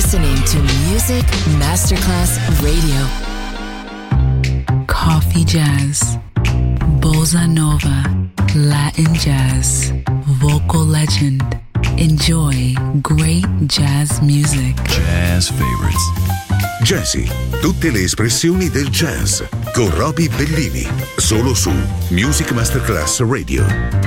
listening to Music Masterclass Radio. Coffee jazz, bossa nova, Latin jazz, vocal legend. Enjoy great jazz music. Jazz favorites. Jazzy, tutte le espressioni del jazz con Roby Bellini, solo su Music Masterclass Radio.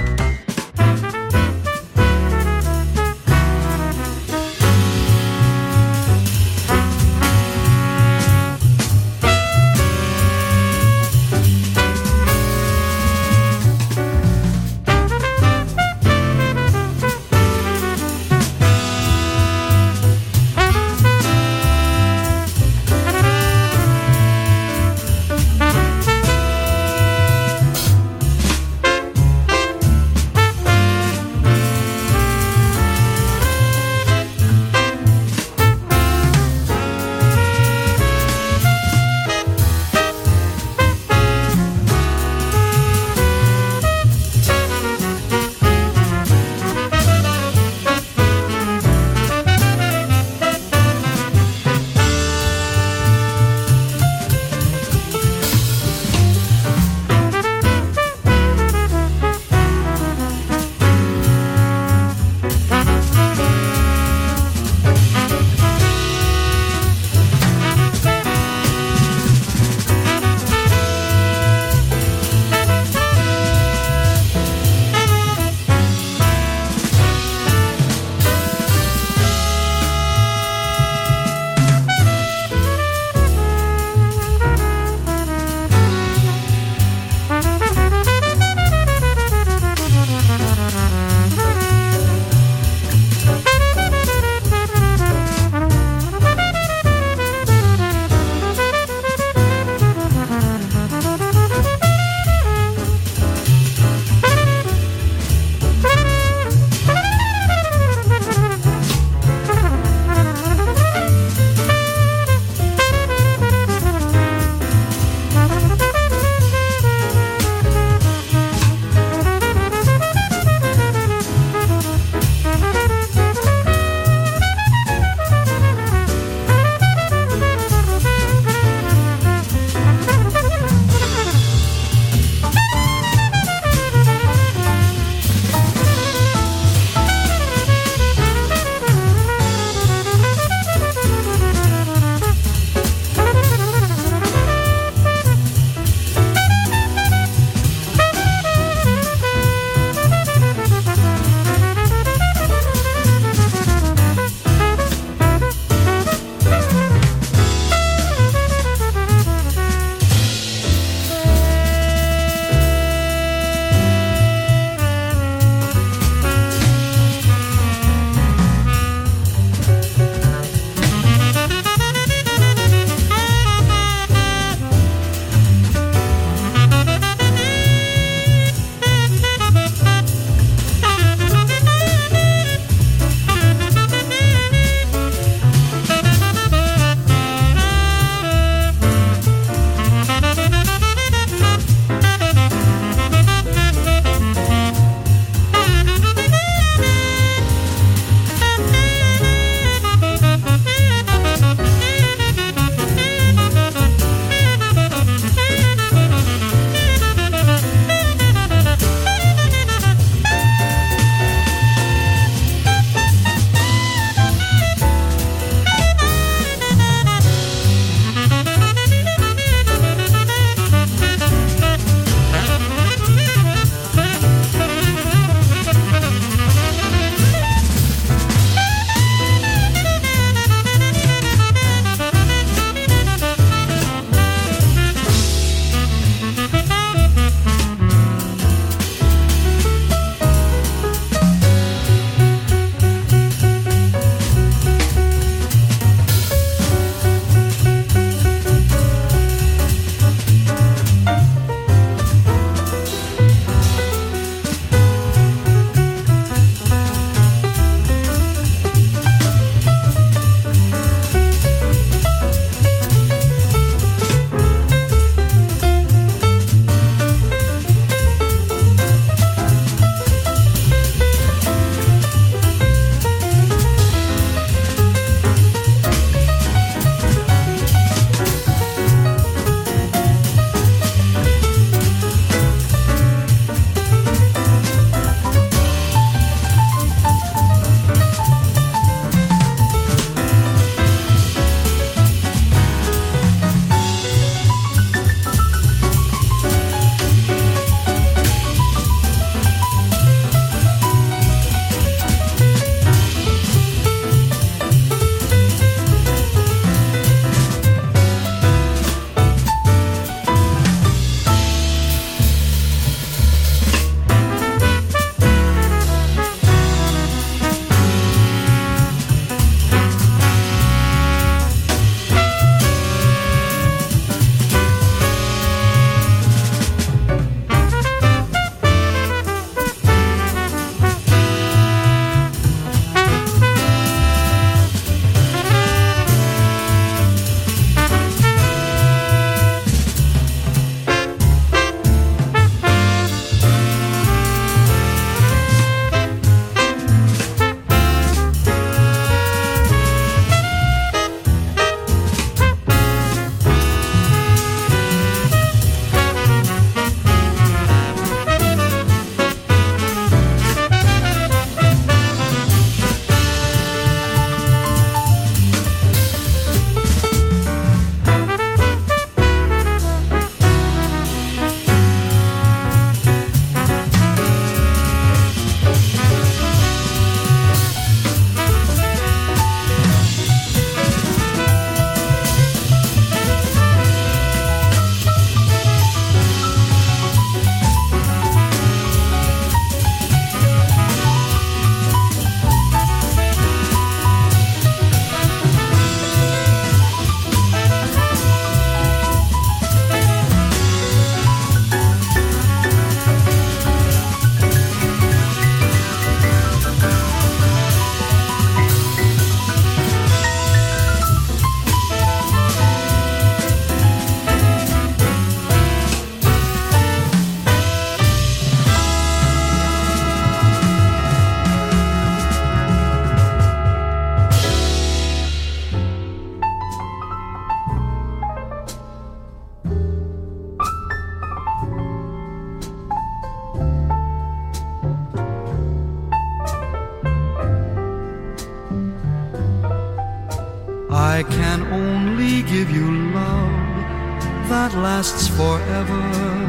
I can only give you love that lasts forever,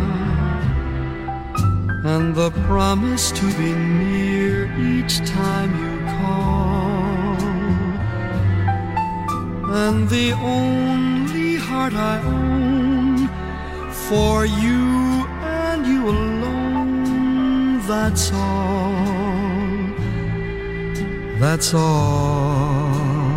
and the promise to be near each time you call, and the only heart I own for you and you alone. That's all, that's all.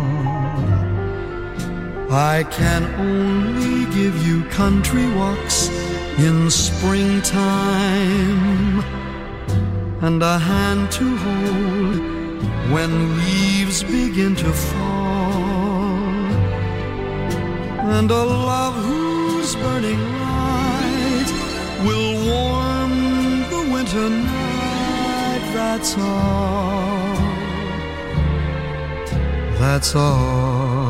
I can only give you country walks in springtime, and a hand to hold when leaves begin to fall, and a love whose burning light will warm the winter night. That's all, that's all.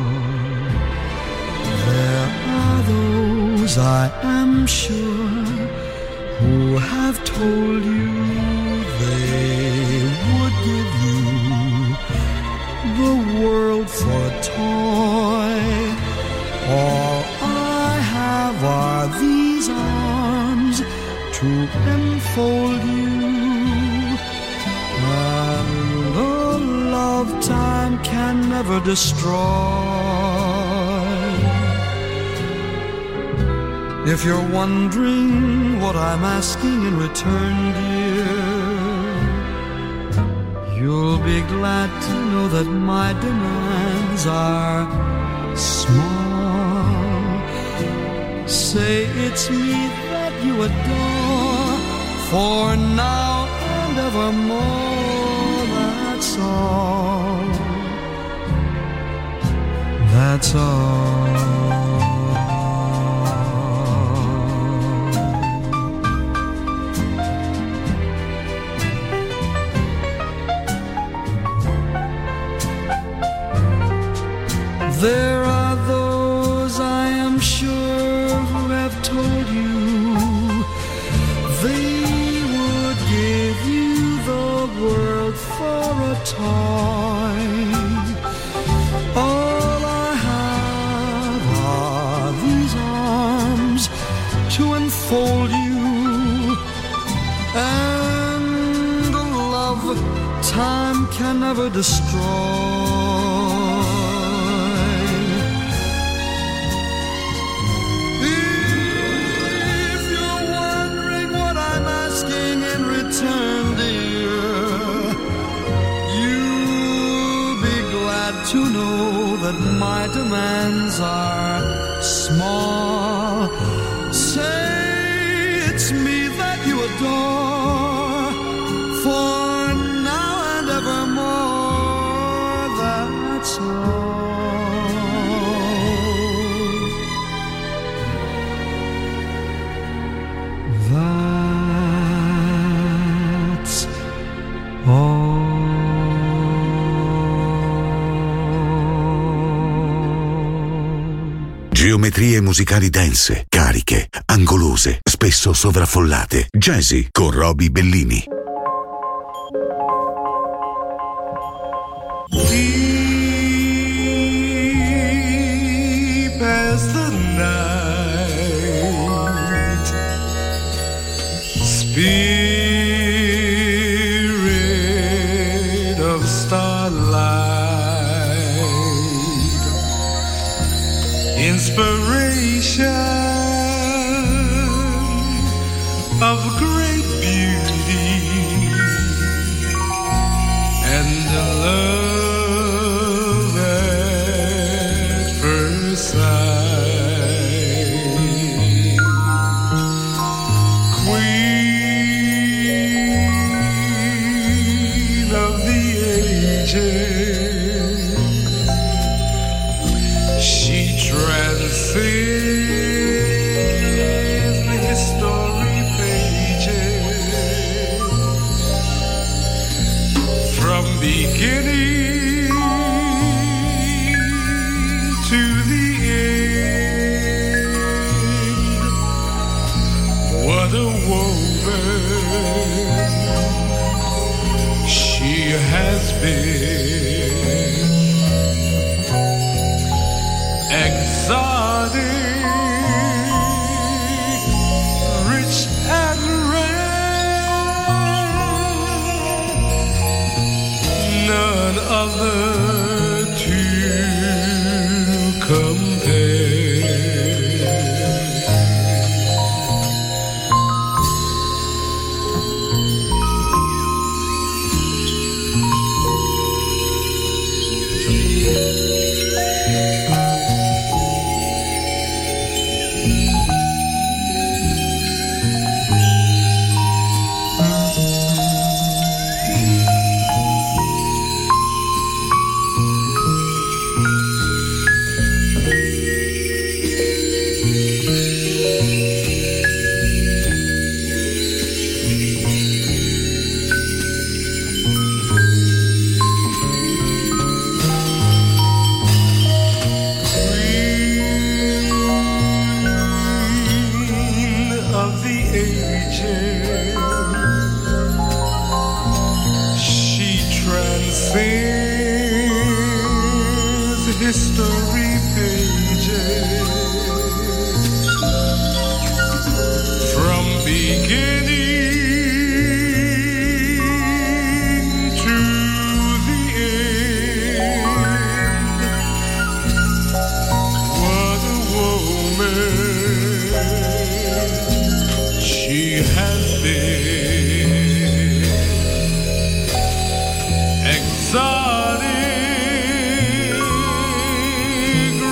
There are those, I am sure, who have told you they would give you the world for a toy. All I have are these arms to enfold you, and a love time can never destroy. If you're wondering what I'm asking in return, dear, you'll be glad to know that my demands are small. Say it's me that you adore, for now and evermore. That's all, that's all. There are those, I am sure, who have told you they would give you the world for a toy. All I have are these arms to enfold you, and a love time can never destroy. To know that my demands are small. Say it's me that you adore, for now and evermore. That's all, that's all. Geometrie musicali dense, cariche, angolose, spesso sovraffollate. Jazzy con Roby Bellini. Deep as the night, spirit of starlight, inspiration of great beauty, and love at first sight. Queen of the ages, she transcends the history pages, from beginning to the end. What a woman she has been. History pages from beginning to the end. What a woman she has been, exotic,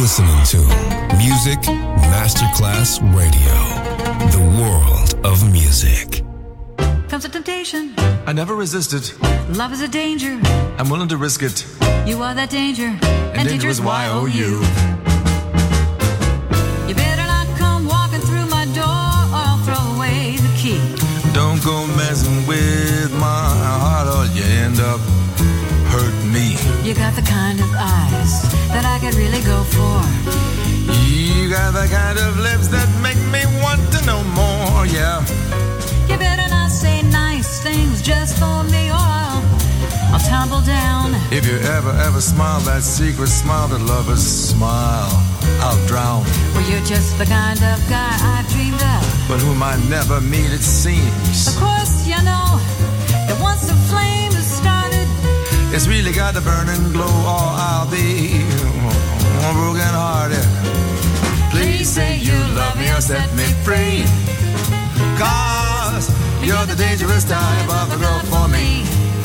listening to Music Masterclass Radio, the world of music. Comes a temptation. I never resisted. Love is a danger. I'm willing to risk it. You are that danger. And danger is Y-O-U. You better not come walking through my door or I'll throw away the key. Don't go messing with my heart or you end up hurting me. You got the kind of eyes that I could really go for. You got the kind of lips that make me want to know more, yeah. You better not say nice things just for me or I'll tumble down. If you ever smile that secret smile that lovers smile, I'll drown. Well, you're just the kind of guy I've dreamed of, but whom I never meet, it seems. Of course, you know that once the flame has started, it's really got to burn and glow or I'll be broken hearted. Please say you love me or set me free, 'cause you're the dangerous type of a girl for me.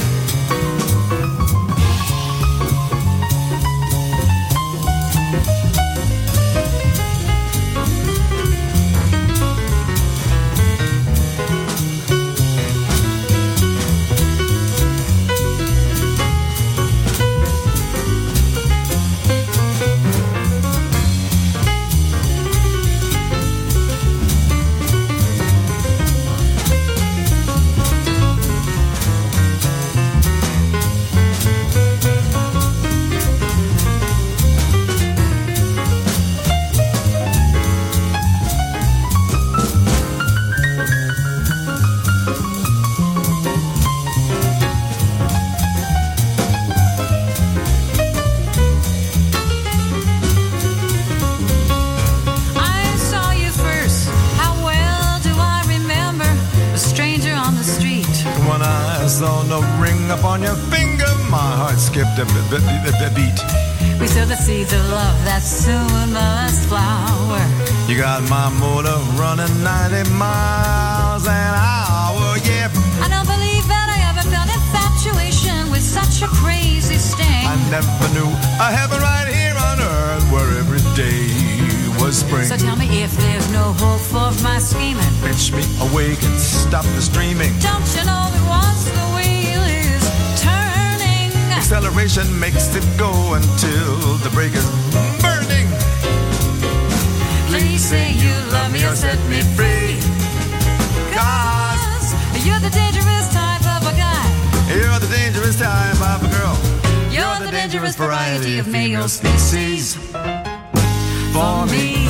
Beat. We sow the seeds of love that soon must flower. You got my motor running 90 miles an hour, yeah. I don't believe that I ever felt infatuation with such a crazy sting. I never knew a heaven right here on earth where every day was spring. So tell me if there's no hope for my scheming. Pinch me awake and stop the streaming. Don't you know that once the wheel is turning, acceleration makes it go until the brake is burning. Please say you love me or set me free, 'cause you're the dangerous type of a guy. You're the dangerous type of a girl. You're the dangerous variety of male species for me.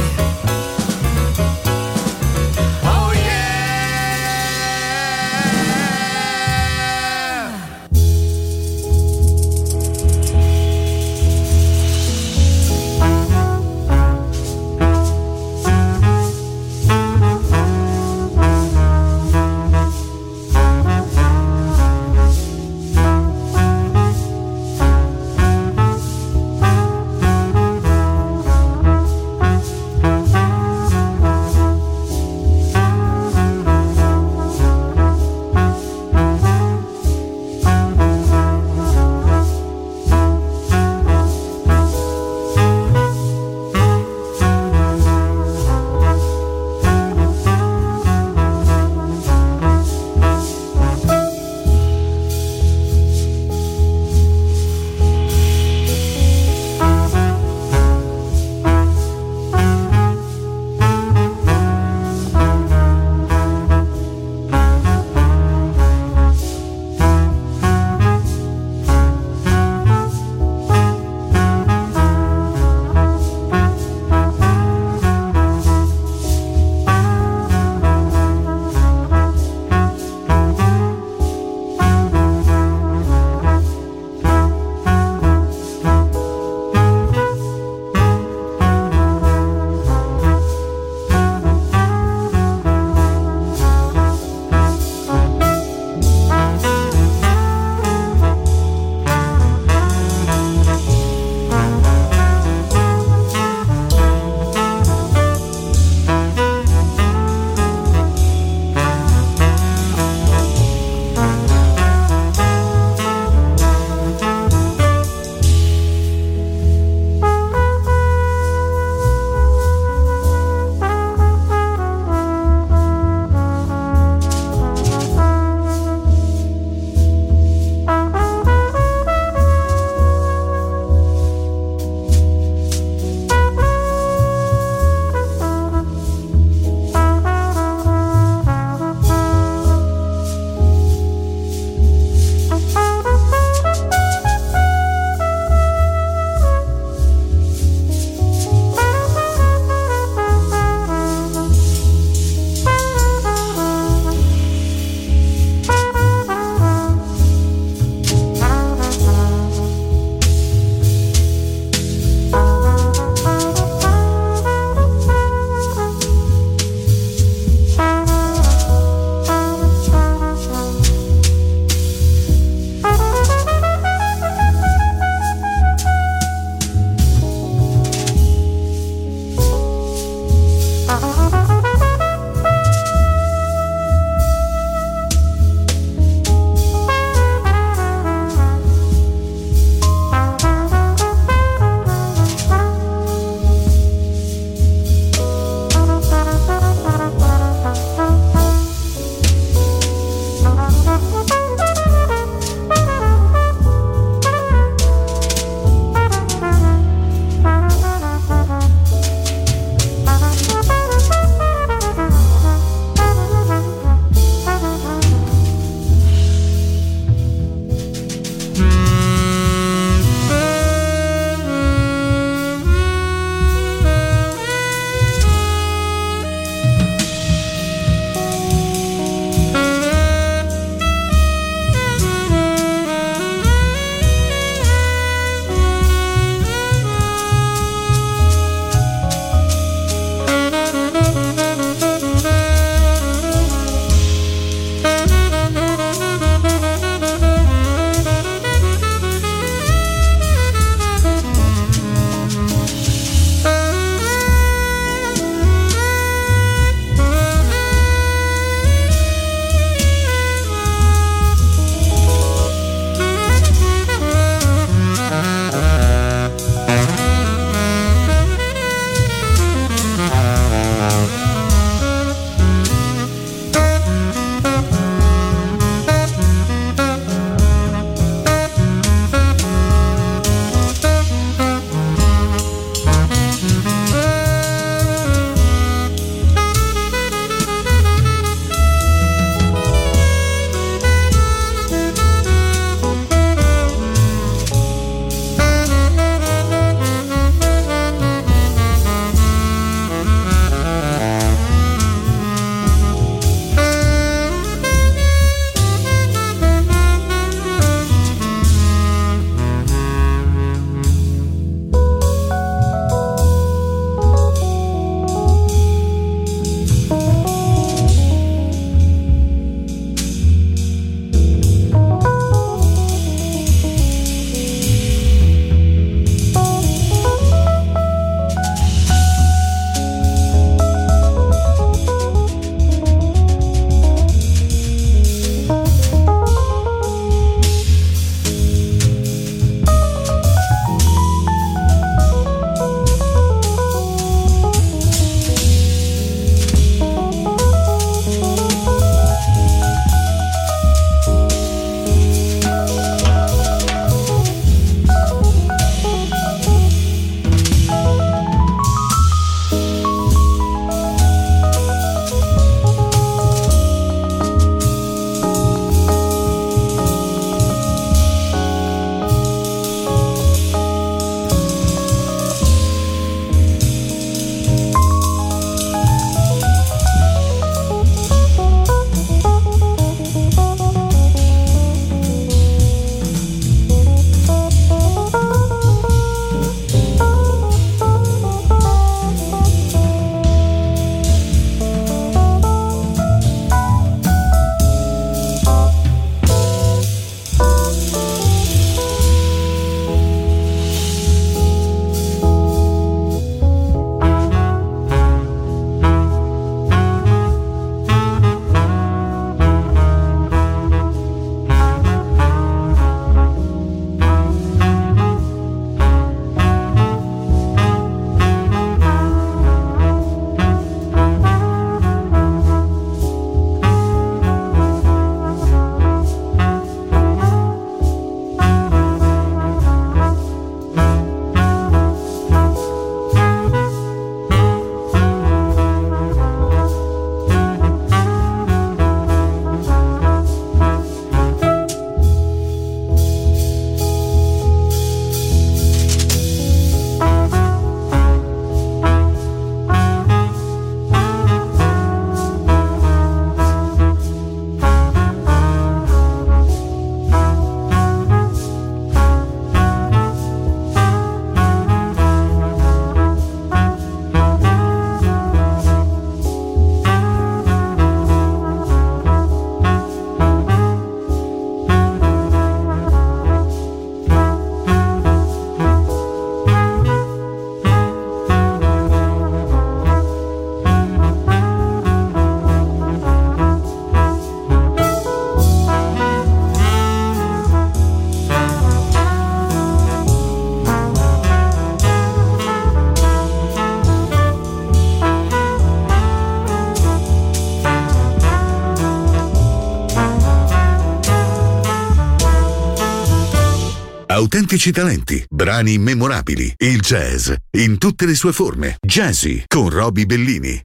autentici talenti, brani immemorabili, il jazz in tutte le sue forme. Jazzy con Roby Bellini.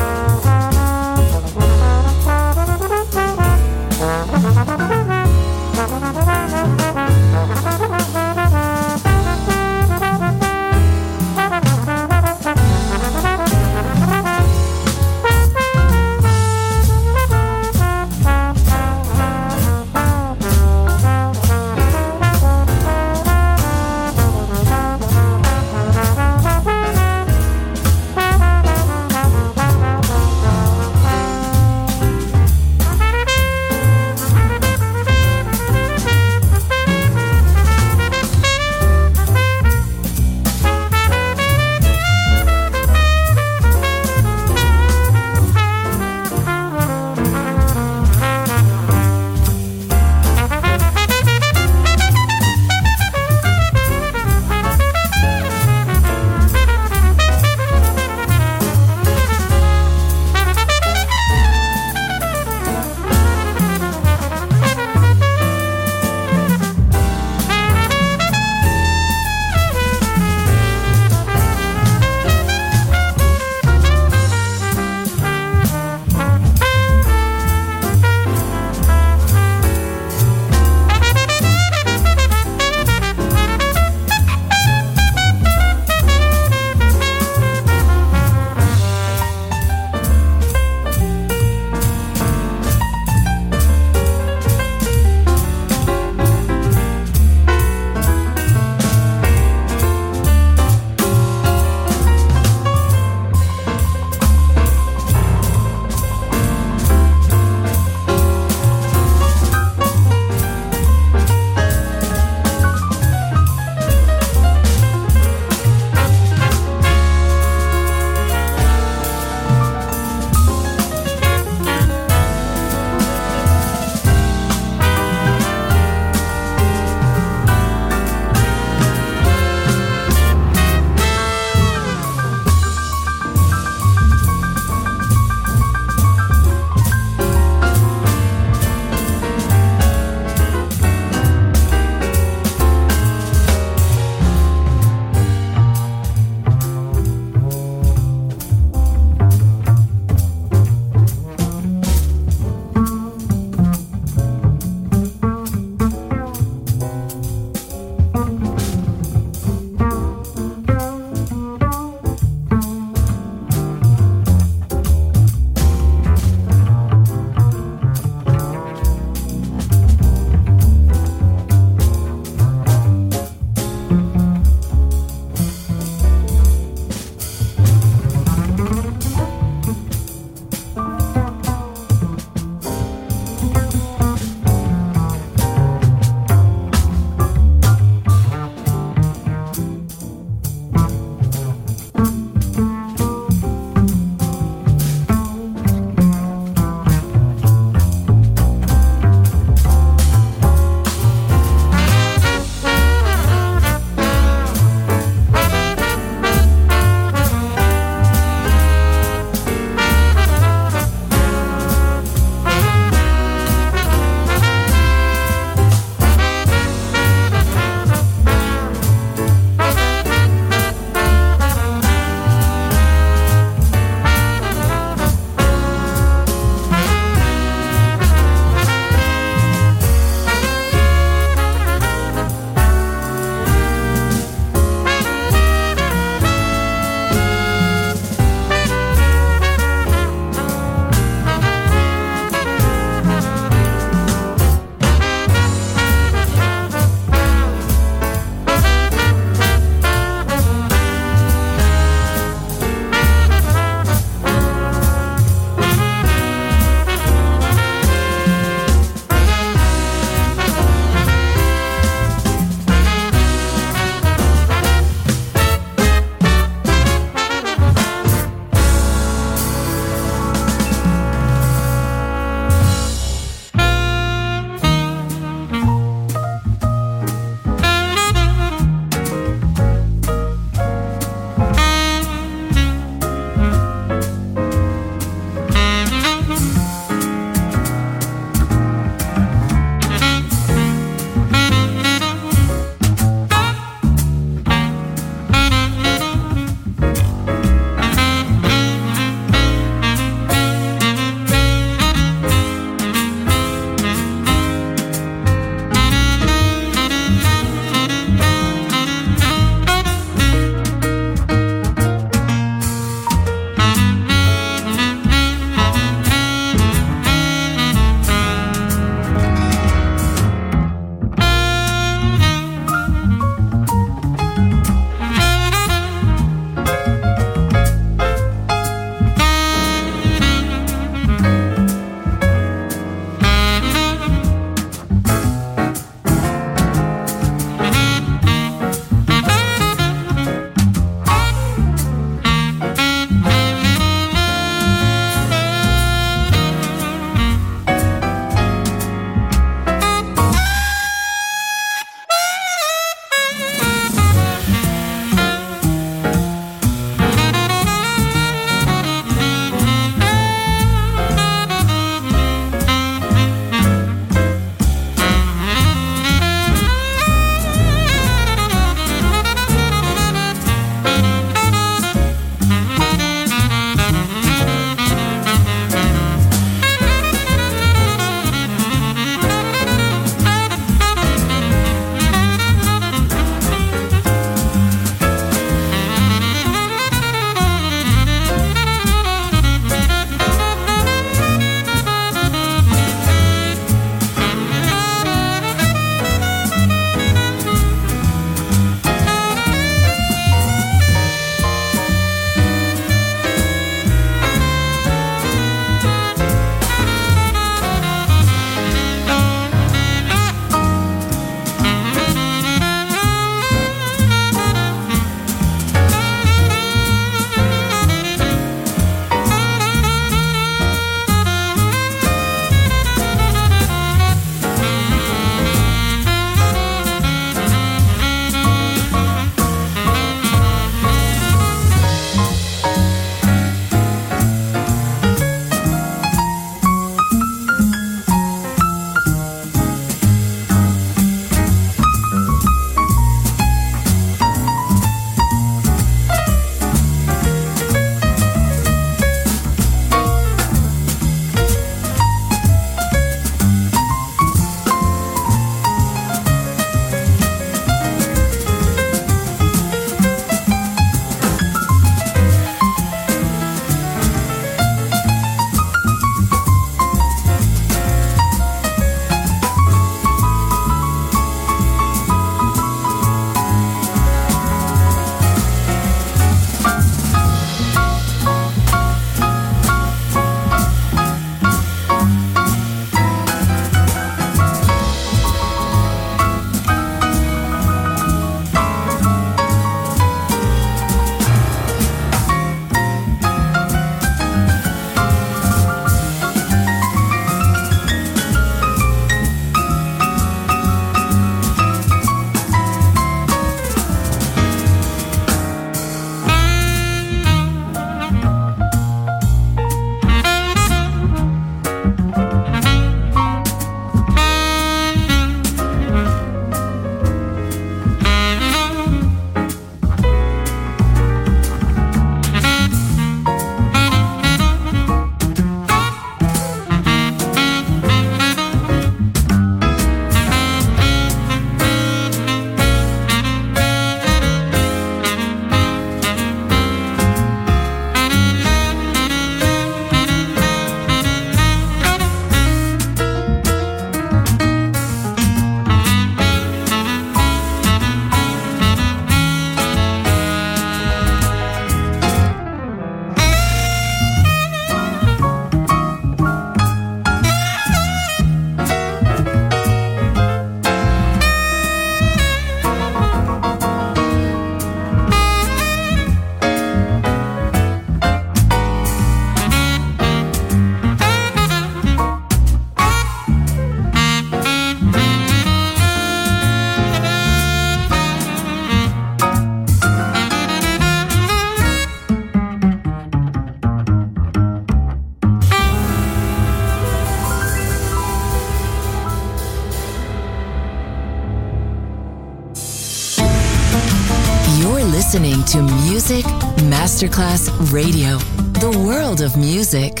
listening to Music Masterclass Radio, the world of music.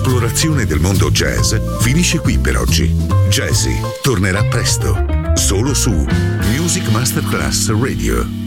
L'esplorazione del mondo jazz finisce qui per oggi. Jazzy tornerà presto, solo su Music Masterclass Radio.